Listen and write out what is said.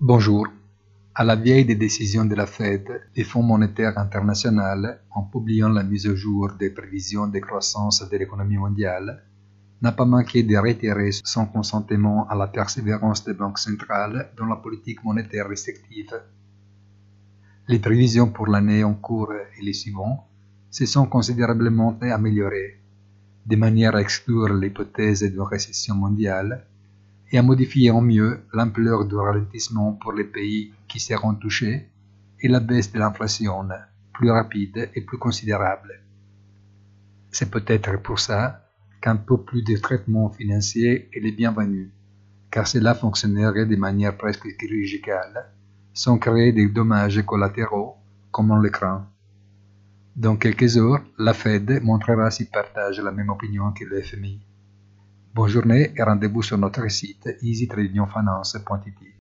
Bonjour. À la veille des décisions de la Fed, le Fonds monétaire international, en publiant la mise à jour des prévisions de croissance de l'économie mondiale, n'a pas manqué de réitérer son consentement à la persévérance des banques centrales dans la politique monétaire restrictive. Les prévisions pour l'année en cours et les suivantes se sont considérablement améliorées, de manière à exclure l'hypothèse d'une récession mondiale et à modifier en mieux l'ampleur du ralentissement pour les pays qui seront touchés et la baisse de l'inflation, plus rapide et plus considérable. C'est peut-être pour ça qu'un peu plus de traitement financier est le bienvenu, car cela fonctionnerait de manière presque chirurgicale, sans créer des dommages collatéraux comme on le craint. Dans quelques heures, la Fed montrera s'il partage la même opinion que le FMI. Bonne journée et rendez-vous sur notre site easytradingfinance.it.